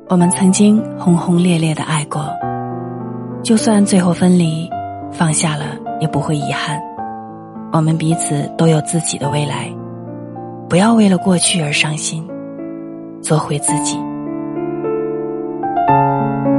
我们曾经轰轰烈烈地爱过，就算最后分离，放下了也不会遗憾。我们彼此都有自己的未来，不要为了过去而伤心，做回自己。